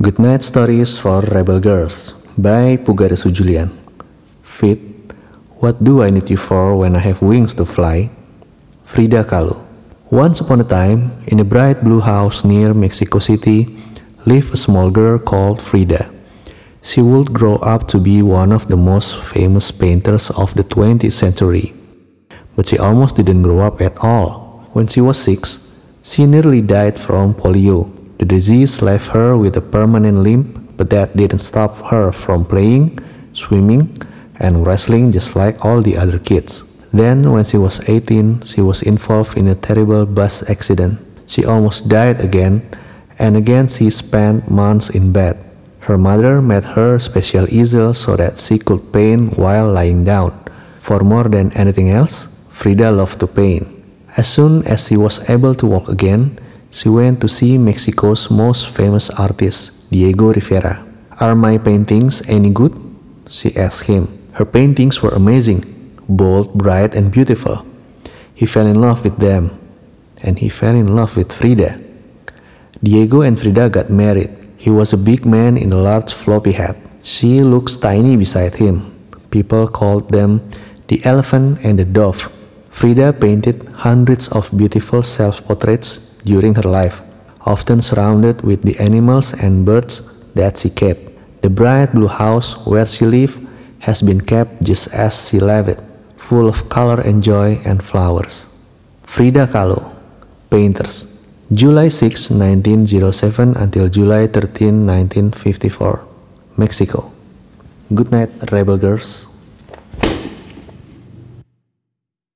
Goodnight Stories for Rebel Girls by Pugaresu Julian. Fit, what do I need you for when I have wings to fly? Frida Kahlo. Once upon a time, in a bright blue house near Mexico City, lived a small girl called Frida. She would grow up to be one of the most famous painters of the 20th century. But she almost didn't grow up at all. When she was 6, she nearly died from polio. The disease left her with a permanent limp, but that didn't stop her from playing, swimming, and wrestling just like all the other kids. Then, when she was 18, she was involved in a terrible bus accident. She almost died again, and again she spent months in bed. Her mother made her a special easel so that she could paint while lying down. For more than anything else, Frida loved to paint. As soon as she was able to walk again, she went to see Mexico's most famous artist, Diego Rivera. "Are my paintings any good?" she asked him. Her paintings were amazing, bold, bright, and beautiful. He fell in love with them, and he fell in love with Frida. Diego and Frida got married. He was a big man in a large floppy hat. She looks tiny beside him. People called them the elephant and the dove. Frida painted hundreds of beautiful self-portraits during her life, often surrounded with the animals and birds that she kept. The bright blue house where she lived has been kept just as she left it, full of color and joy and flowers. Frida Kahlo, Painters, July 6, 1907 until July 13, 1954, Mexico. Good night, Rebel Girls.